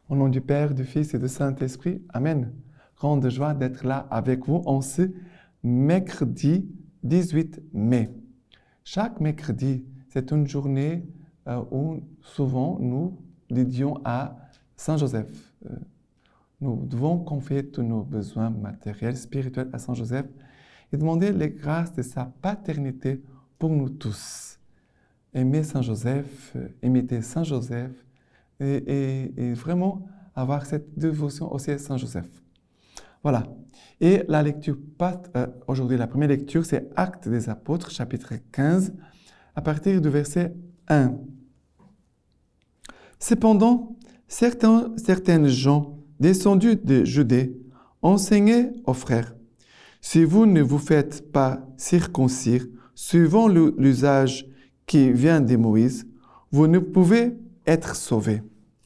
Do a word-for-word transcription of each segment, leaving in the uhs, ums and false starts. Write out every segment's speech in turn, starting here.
Au nom du Père, du Fils et du Saint-Esprit, Amen. Grande joie d'être là avec vous en ce mercredi dix-huit mai. Chaque mercredi, c'est une journée euh, où souvent nous dédions à Saint Joseph. Euh, nous devons confier tous nos besoins matériels, spirituels à Saint Joseph et demander les grâces de sa paternité pour nous tous. Aimer Saint Joseph, imiter Saint Joseph et, et, et vraiment avoir cette dévotion aussi à Saint Joseph. Voilà. Et la lecture, euh, aujourd'hui, la première lecture, c'est Actes des Apôtres, chapitre quinze, à partir du verset un. Cependant, certains, certaines gens descendus de Judée enseignaient aux frères: si vous ne vous faites pas circoncire, suivant l'usage qui vient de Moïse, vous ne pouvez être sauvés.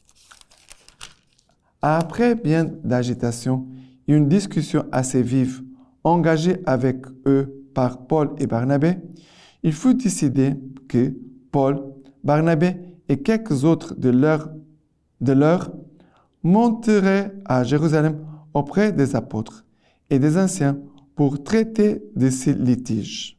Après bien d'agitation et une discussion assez vive, engagée avec eux par Paul et Barnabé, il fut décidé que Paul, Barnabé et quelques autres de leurs de leur monteraient à Jérusalem auprès des apôtres et des anciens pour traiter de ces litiges.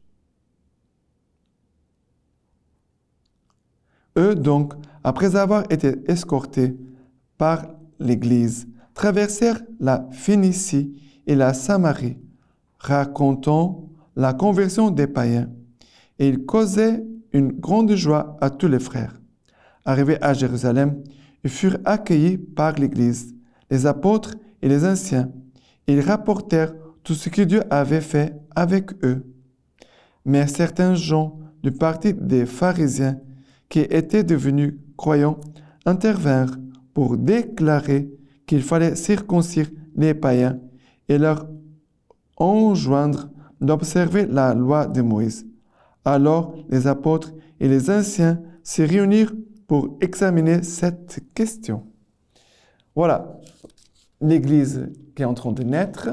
Eux donc, après avoir été escortés par l'Église, traversèrent la Phénicie et la Samarie, racontant la conversion des païens, et ils causaient une grande joie à tous les frères. Arrivés à Jérusalem, ils furent accueillis par l'Église, les apôtres et les anciens. Ils rapportèrent tout ce que Dieu avait fait avec eux. Mais certains gens du parti des pharisiens qui étaient devenus croyants intervinrent pour déclarer qu'il fallait circoncire les païens et leur enjoindre d'observer la loi de Moïse. Alors les apôtres et les anciens se réunirent pour examiner cette question. Voilà, l'Église qui est en train de naître,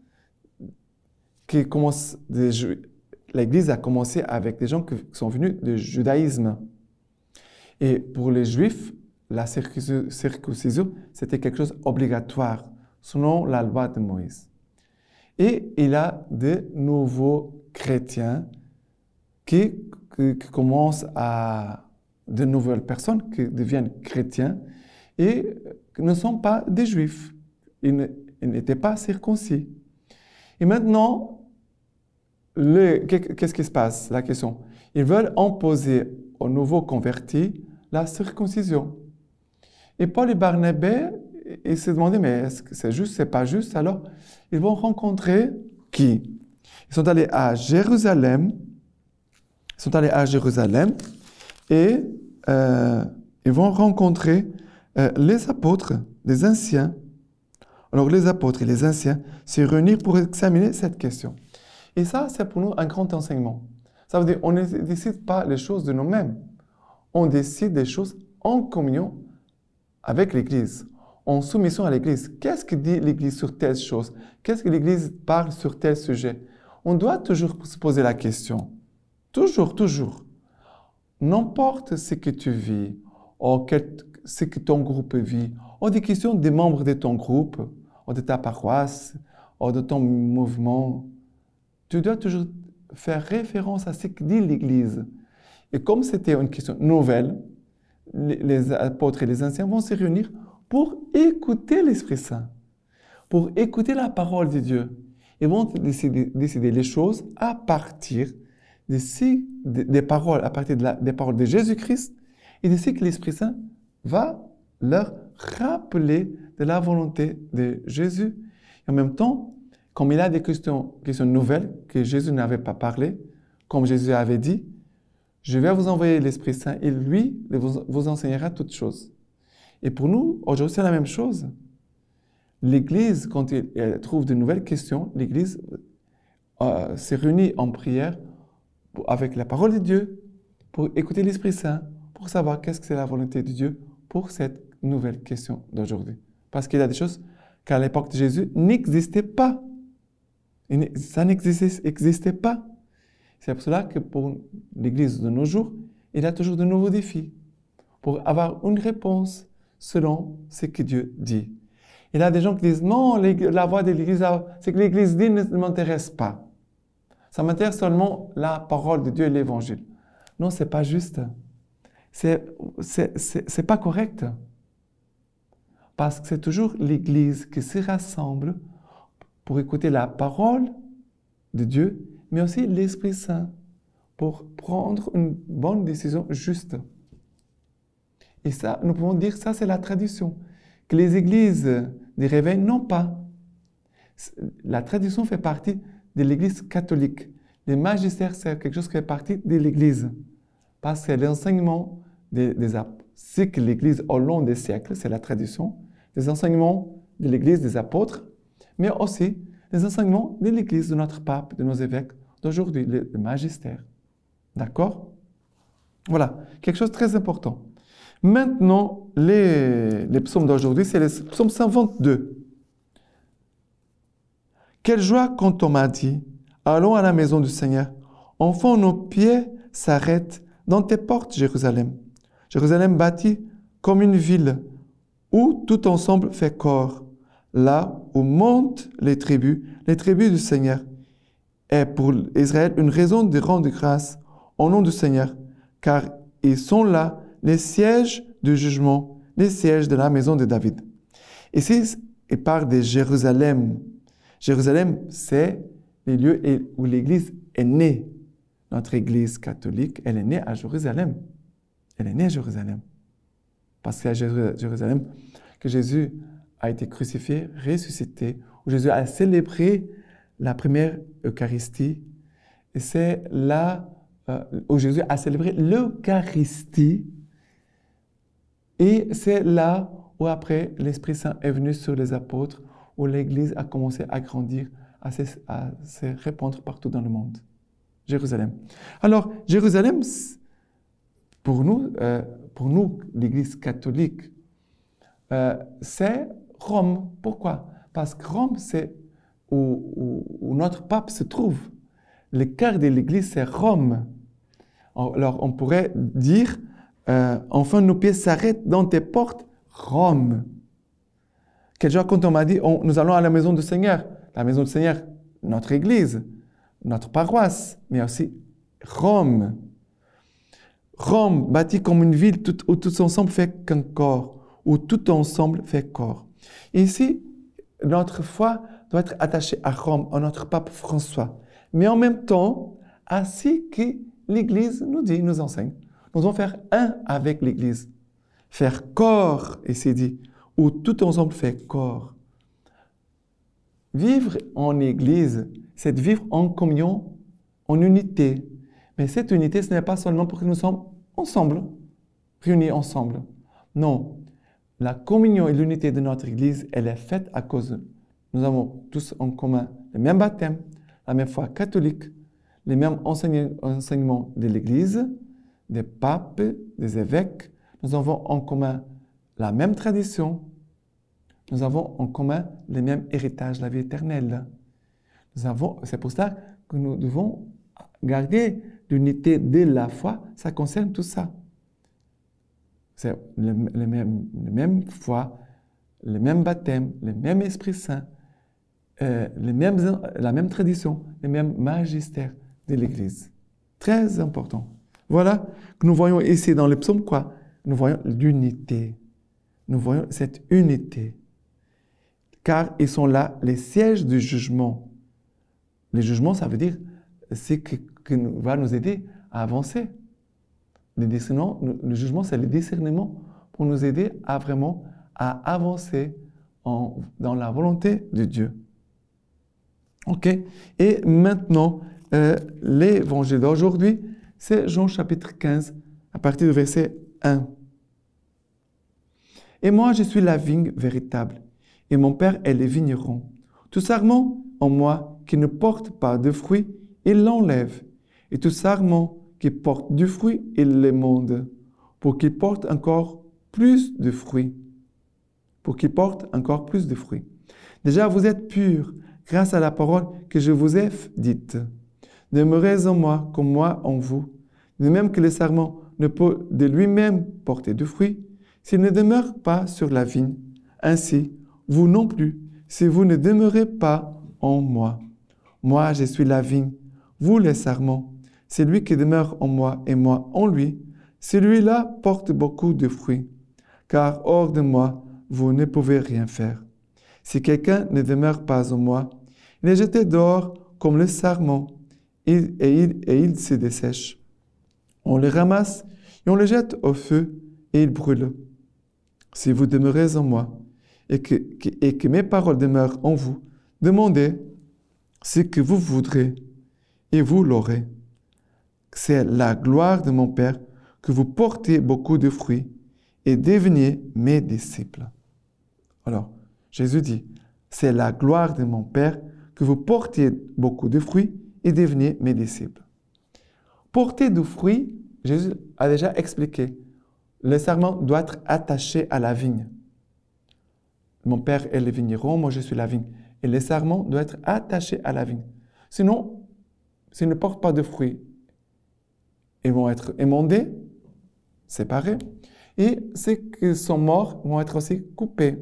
qui commence de, l'Église a commencé avec des gens qui sont venus du judaïsme. Et pour les Juifs, la circoncision, c'était quelque chose d'obligatoire, selon la loi de Moïse. Et il y a de nouveaux chrétiens qui, qui, qui commencent à... de nouvelles personnes qui deviennent chrétiens et qui ne sont pas des Juifs. Ils n'étaient pas circoncis. Et maintenant, le, qu'est-ce qui se passe? La question. Ils veulent imposer aux nouveaux convertis la circoncision. Et Paul et Barnabé, ils se demandaient, mais est-ce que c'est juste, c'est pas juste? Alors, ils vont rencontrer qui? Ils sont allés à Jérusalem. Ils sont allés à Jérusalem et euh, ils vont rencontrer euh, les apôtres, les anciens. Alors, les apôtres et les anciens se réunissent pour examiner cette question. Et ça, c'est pour nous un grand enseignement. Ça veut dire qu'on ne décide pas les choses de nous-mêmes. On décide des choses en communion avec l'Église, en soumission à l'Église. Qu'est-ce que dit l'Église sur telle chose? Qu'est-ce que l'Église parle sur tel sujet? On doit toujours se poser la question. Toujours, toujours. N'importe ce que tu vis, ou quel, ce que ton groupe vit, ou des questions des membres de ton groupe, ou de ta paroisse, ou de ton mouvement, tu dois toujours faire référence à ce que dit l'Église. Et comme c'était une question nouvelle, les, les apôtres et les anciens vont se réunir pour écouter l'Esprit Saint, pour écouter la parole de Dieu. Ils vont décider, décider les choses à partir de ces, de, des paroles, à partir de la, des paroles de Jésus-Christ et de ce que l'Esprit Saint va leur rappeler de la volonté de Jésus. Et en même temps, comme il y a des questions, questions nouvelles que Jésus n'avait pas parlé, comme Jésus avait dit, je vais vous envoyer l'Esprit Saint et lui vous, vous enseignera toutes choses. Et pour nous, aujourd'hui, c'est la même chose. L'Église, quand elle, elle trouve de nouvelles questions, l'Église euh, se réunit en prière pour, avec la parole de Dieu pour écouter l'Esprit Saint, pour savoir qu'est-ce que c'est la volonté de Dieu pour cette nouvelle question d'aujourd'hui. Parce qu'il y a des choses qu'à l'époque de Jésus n'existaient pas. Et ça n'existait pas. C'est pour cela que pour l'Église de nos jours, il y a toujours de nouveaux défis pour avoir une réponse selon ce que Dieu dit. Il y a des gens qui disent, non, la voix de l'Église, c'est que l'Église dit ne, ne m'intéresse pas. Ça m'intéresse seulement la parole de Dieu et l'Évangile. Non, ce n'est pas juste. Ce n'est pas correct. Parce que c'est toujours l'Église qui se rassemble pour écouter la parole de Dieu, mais aussi l'Esprit Saint pour prendre une bonne décision juste. Et ça, nous pouvons dire, ça c'est la tradition, que les églises des réveils n'ont pas. La tradition fait partie de l'Église catholique. Les magistères, c'est quelque chose qui fait partie de l'Église. Parce que l'enseignement des, des c'est que l'Église au long des siècles, c'est la tradition, des enseignements de l'Église des apôtres, mais aussi les enseignements de l'Église, de notre pape, de nos évêques d'aujourd'hui, le, le magistère. D'accord? Voilà, quelque chose de très important. Maintenant, les, les psaumes d'aujourd'hui, c'est les psaumes cent vingt-deux. Quelle joie quand on m'a dit, allons à la maison du Seigneur. Enfin, nos pieds s'arrêtent dans tes portes, Jérusalem. Jérusalem bâtie comme une ville où tout ensemble fait corps. Là où montent les tribus, les tribus du Seigneur. Et pour Israël, une raison de rendre grâce au nom du Seigneur, car ils sont là, les sièges du jugement, les sièges de la maison de David. Ici, il parle de Jérusalem. Jérusalem, c'est les lieux où l'Église est née. Notre Église catholique, elle est née à Jérusalem. Elle est née à Jérusalem. Parce que c'est à Jérusalem que Jésus a été crucifié, ressuscité, où Jésus a célébré la première Eucharistie. Et c'est là euh, où Jésus a célébré l'Eucharistie. Et c'est là où après l'Esprit Saint est venu sur les apôtres, où l'Église a commencé à grandir, à se, à se répandre partout dans le monde. Jérusalem. Alors, Jérusalem, pour nous, euh, pour nous l'Église catholique, euh, c'est Rome. Pourquoi? Parce que Rome, c'est où, où, où notre pape se trouve. Le cœur de l'Église, c'est Rome. Alors, on pourrait dire, euh, enfin, nos pieds s'arrêtent dans tes portes, Rome. Quel jour, quand on m'a dit, on, nous allons à la maison du Seigneur. La maison du Seigneur, notre Église, notre paroisse, mais aussi Rome. Rome, bâtie comme une ville tout, où tout ensemble fait qu'un corps, où tout ensemble fait corps. Et ici, notre foi doit être attachée à Rome, à notre pape François. Mais en même temps, à ce que l'Église nous dit, nous enseigne. Nous devons faire un avec l'Église. Faire corps, et c'est dit, où tout ensemble fait corps. Vivre en Église, c'est de vivre en communion, en unité. Mais cette unité, ce n'est pas seulement pour que nous sommes ensemble, réunis ensemble. Non, la communion et l'unité de notre Église, elle est faite à cause de nous avons tous en commun le même baptême, la même foi catholique, les mêmes enseignements de l'Église, des papes, des évêques. Nous avons en commun la même tradition. Nous avons en commun les mêmes héritages, la vie éternelle. Nous avons, c'est pour ça que nous devons garder l'unité de la foi. Ça concerne tout ça. C'est le, le même, le même foi, le même baptême, le même Esprit Saint, euh, les mêmes, la même tradition, le même magistère de l'Église. Très important. Voilà que nous voyons ici dans le psaume quoi? Nous voyons l'unité. Nous voyons cette unité. Car ils sont là, les sièges du jugement. Le jugement, ça veut dire, c'est que, que va nous aider à avancer. Le, discernement, le jugement, c'est le discernement pour nous aider à vraiment à avancer en, dans la volonté de Dieu. OK? Et maintenant, euh, l'évangile d'aujourd'hui, c'est Jean chapitre quinze, à partir du verset un. Et moi, je suis la vigne véritable, et mon Père est le vigneron. Tout sarment en moi qui ne porte pas de fruits, il l'enlève. Et tout sarment qui porte du fruit, il l'émonde, pour qu'il porte encore plus de fruits. Pour qu'il porte encore plus de fruits. Déjà, vous êtes purs grâce à la parole que je vous ai dite. Demeurez en moi comme moi en vous. De même que le sarment ne peut de lui-même porter du fruit, s'il ne demeure pas sur la vigne, ainsi, vous non plus, si vous ne demeurez pas en moi. Moi, je suis la vigne, vous les sarments. Celui qui demeure en moi et moi en lui, celui-là porte beaucoup de fruits, car hors de moi, vous ne pouvez rien faire. Si quelqu'un ne demeure pas en moi, il est jeté dehors comme le sarment, et, et, il, et il se dessèche. On le ramasse et on le jette au feu, et il brûle. Si vous demeurez en moi, et que, que, et que mes paroles demeurent en vous, demandez ce que vous voudrez, et vous l'aurez. C'est la gloire de mon Père que vous portez beaucoup de fruits et deveniez mes disciples. Alors, Jésus dit, c'est la gloire de mon Père que vous portiez beaucoup de fruits et deveniez mes disciples. Porter du fruit, Jésus a déjà expliqué. Le sarment doit être attaché à la vigne. Mon Père est le vigneron, moi je suis la vigne. Et le sarment doit être attaché à la vigne. Sinon, s'ils ne portent pas de fruits, ils vont être émondés, séparés, et ceux qui sont morts vont être aussi coupés.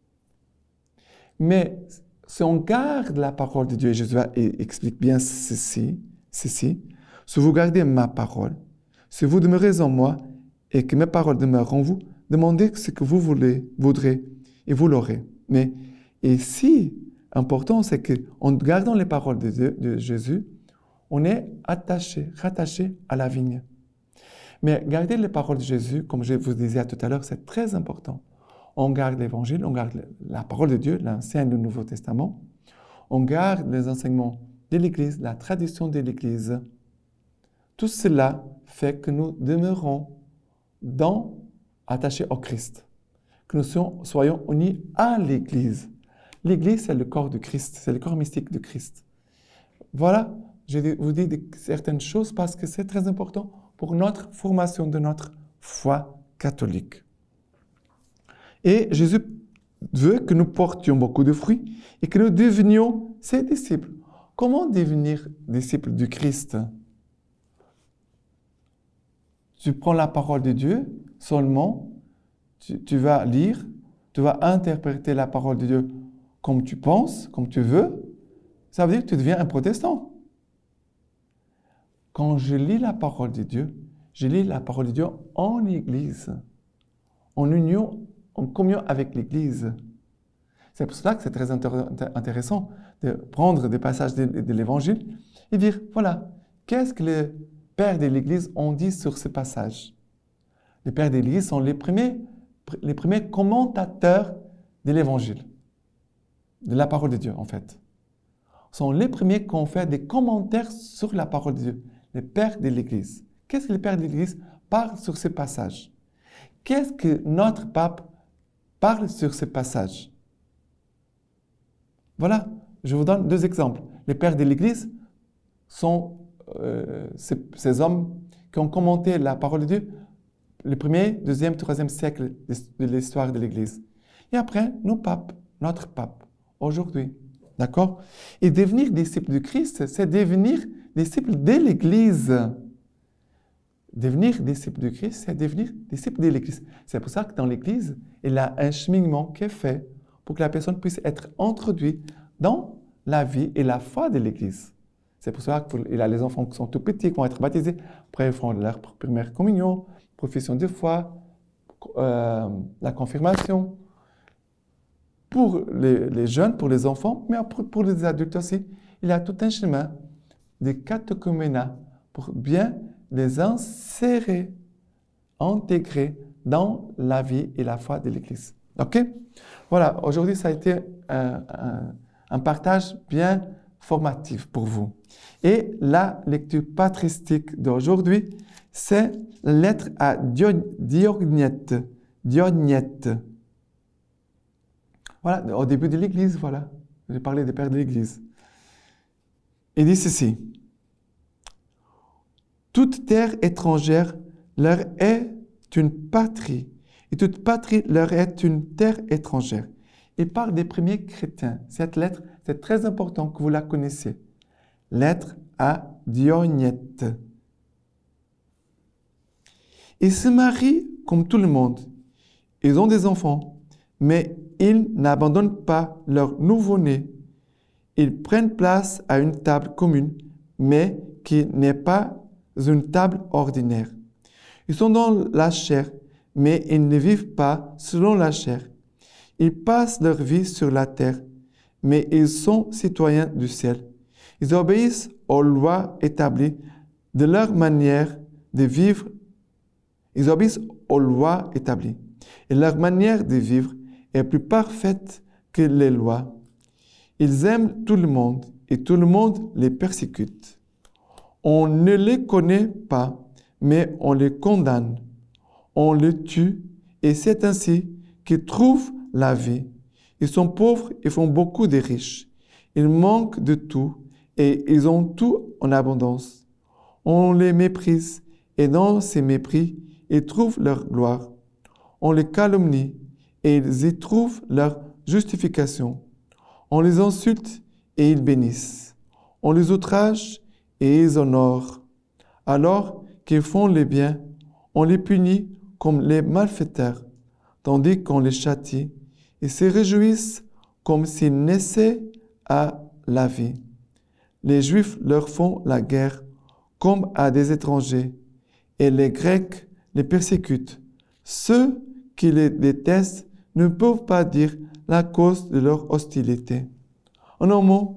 Mais si on garde la parole de Dieu, et Jésus explique bien ceci, ceci, si vous gardez ma parole, si vous demeurez en moi et que mes paroles demeurent en vous, demandez ce que vous voulez, voudrez et vous l'aurez. Mais ici, important, c'est qu'en gardant les paroles de, Dieu, de Jésus, on est attaché, rattaché à la vigne. Mais garder les paroles de Jésus, comme je vous disais tout à l'heure, c'est très important. On garde l'Évangile, on garde la parole de Dieu, l'Ancien et le Nouveau Testament. On garde les enseignements de l'Église, la tradition de l'Église. Tout cela fait que nous demeurons dans, attachés au Christ, que nous soyons unis à l'Église. L'Église, c'est le corps de Christ, c'est le corps mystique de Christ. Voilà, je vous dis certaines choses parce que c'est très important pour notre formation de notre foi catholique. Et Jésus veut que nous portions beaucoup de fruits et que nous devenions ses disciples. Comment devenir disciple du Christ? Tu prends la parole de Dieu seulement, tu, tu vas lire, tu vas interpréter la parole de Dieu comme tu penses, comme tu veux. Ça veut dire que tu deviens un protestant. Quand je lis la parole de Dieu, je lis la parole de Dieu en Église, en union, en communion avec l'Église. C'est pour cela que c'est très intéressant de prendre des passages de, de l'Évangile et dire, voilà, qu'est-ce que les pères de l'Église ont dit sur ce passage? Les pères de l'Église sont les premiers, les premiers commentateurs de l'Évangile, de la parole de Dieu, en fait. Sont les premiers qui ont fait des commentaires sur la parole de Dieu, les pères de l'Église. Qu'est-ce que les pères de l'Église parlent sur ce passage? Qu'est-ce que notre pape parle sur ce passage? Voilà, je vous donne deux exemples. Les pères de l'Église sont euh, ces, ces hommes qui ont commenté la parole de Dieu le premier, deuxième, troisième siècle de l'histoire de l'Église. Et après, nos papes, notre pape, aujourd'hui. D'accord? Et devenir disciple de Christ, c'est devenir disciple de l'Église. Devenir disciple de Christ, c'est devenir disciple de l'Église. C'est pour ça que dans l'Église, il y a un cheminement qui est fait pour que la personne puisse être introduite dans la vie et la foi de l'Église. C'est pour ça qu'il y a les enfants qui sont tout petits, qui vont être baptisés. Après, ils font leur première communion, profession de foi, euh, la confirmation. Pour les, les jeunes, pour les enfants, mais pour, pour les adultes aussi, il y a tout un chemin de catéchuménat pour bien les insérer, intégrer dans la vie et la foi de l'Église. OK? Voilà, aujourd'hui, ça a été un, un, un partage bien formatif pour vous. Et la lecture patristique d'aujourd'hui, c'est la lettre à Diogniette. Diogniette. Voilà, au début de l'Église, voilà. J'ai parlé des pères de l'Église. Il dit ceci. Toute terre étrangère leur est une patrie, et toute patrie leur est une terre étrangère. Il parle des premiers chrétiens. Cette lettre, c'est très important que vous la connaissiez. Lettre à Diogniette. Ils se marient comme tout le monde. Ils ont des enfants, mais ils n'abandonnent pas leur nouveau-né. Ils prennent place à une table commune, mais qui n'est pas une table ordinaire. Ils sont dans la chair, mais ils ne vivent pas selon la chair. Ils passent leur vie sur la terre, mais ils sont citoyens du ciel. Ils obéissent aux lois établies de leur manière de vivre. Ils obéissent aux lois établies. Et leur manière de vivre est plus parfaite que les lois. Ils aiment tout le monde et tout le monde les persécute. On ne les connaît pas, mais on les condamne. On les tue et c'est ainsi qu'ils trouvent la vie. Ils sont pauvres et font beaucoup de riches. Ils manquent de tout et ils ont tout en abondance. On les méprise et dans ces mépris, ils trouvent leur gloire. On les calomnie et ils y trouvent leur justification. On les insulte et ils bénissent. On les outrage et ils honorent. Alors qu'ils font les biens, on les punit comme les malfaiteurs, tandis qu'on les châtie. Ils se réjouissent comme s'ils naissaient à la vie. Les Juifs leur font la guerre comme à des étrangers, et les Grecs les persécutent. Ceux qui les détestent ne peuvent pas dire la cause de leur hostilité. En un mot,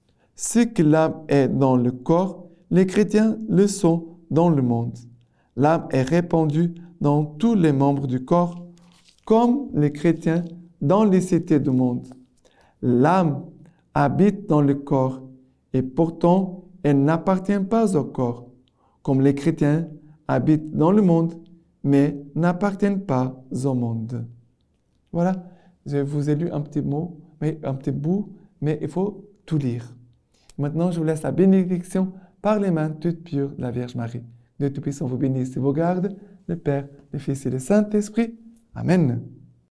ce que l'âme est dans le corps, les chrétiens le sont dans le monde. L'âme est répandue dans tous les membres du corps, comme les chrétiens dans les cités du monde. L'âme habite dans le corps et pourtant elle n'appartient pas au corps, comme les chrétiens habitent dans le monde mais n'appartiennent pas au monde. Voilà, je vous ai lu un petit mot, mais un petit bout, mais il faut tout lire. Maintenant, je vous laisse la bénédiction par les mains toutes pures de la Vierge Marie. Dieu Tout-Puissant vous bénisse et vous garde, le Père, le Fils et le Saint-Esprit. Amen.